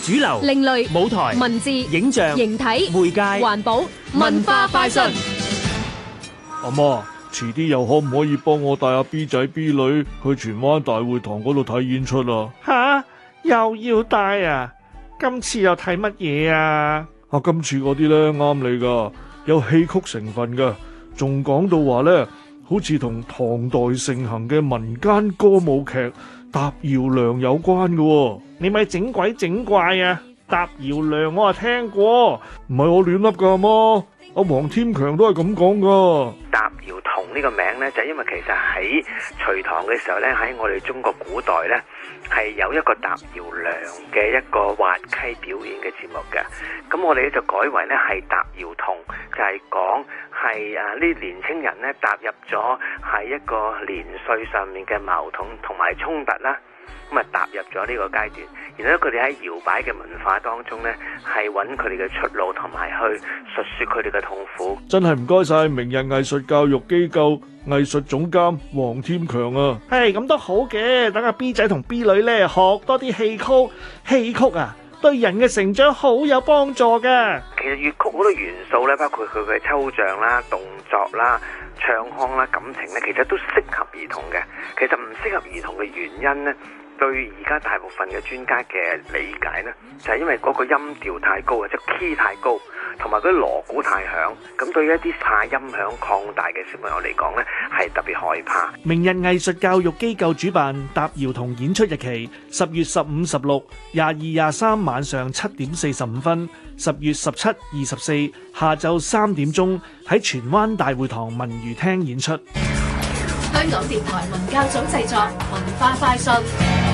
主流、 另類舞台、 文字、 影像、 形體、 媒介、 環保、文化快訊。 阿媽，遲啲又可唔可以幫我帶阿 B 仔 B 女去荃灣大會堂嗰度睇演出啊？ 吓，又要帶啊？今次又睇乜嘢啊？ 今次嗰啲呢啱你噶，有戲曲成分噶，仲講到話呢，好似同唐代盛行嘅民間歌舞劇《踏搖娘》有關噶喎。 你咪整鬼整怪啊！踏搖娘我係聽過， 唔係我亂笠噶，阿媽，阿黃天強都係咁講噶。 踏搖童呢個名呢，就因為其實喺隋唐嘅時候呢，喺我哋中國古代呢，係有一個踏搖娘嘅一個滑稽表演嘅節目嘅。咁我哋咧就改為呢係踏搖童，就係講係呢年青人呢踏入咗係一個年歲上面嘅矛盾同埋衝突啦。咁啊踏入咗呢個階段，然後佢哋喺搖擺嘅文化當中呢，係揾佢哋嘅出路，同埋去述說佢哋嘅痛苦。 真係唔該晒明日藝術教育機構藝術總監黃天強啊！ 係咁都好嘅，等阿 B 仔同 B 女呢學多啲戲曲，戲曲啊對人嘅成長好有幫助噶。 其實粵曲好多元素呢，包括佢嘅抽象啦、動作啦、唱腔啦、感情呢，其實都適合兒童嘅。其實唔適合兒童嘅原因呢，對而家大部分嘅專家嘅理解呢，就係因為嗰個音調太高啊，即係 key 太高，同埋嗰啲鑼鼓太響，咁對於一啲怕音響擴大嘅小朋友嚟講呢，係特別害怕。 明日藝術教育機構主辦踏搖童演出日期10月15、16、22、23晚上7點45分，10月17、24下晝3點鐘喺荃灣大會堂文娛廳演出。 香港電台文教組製作，文化快訊。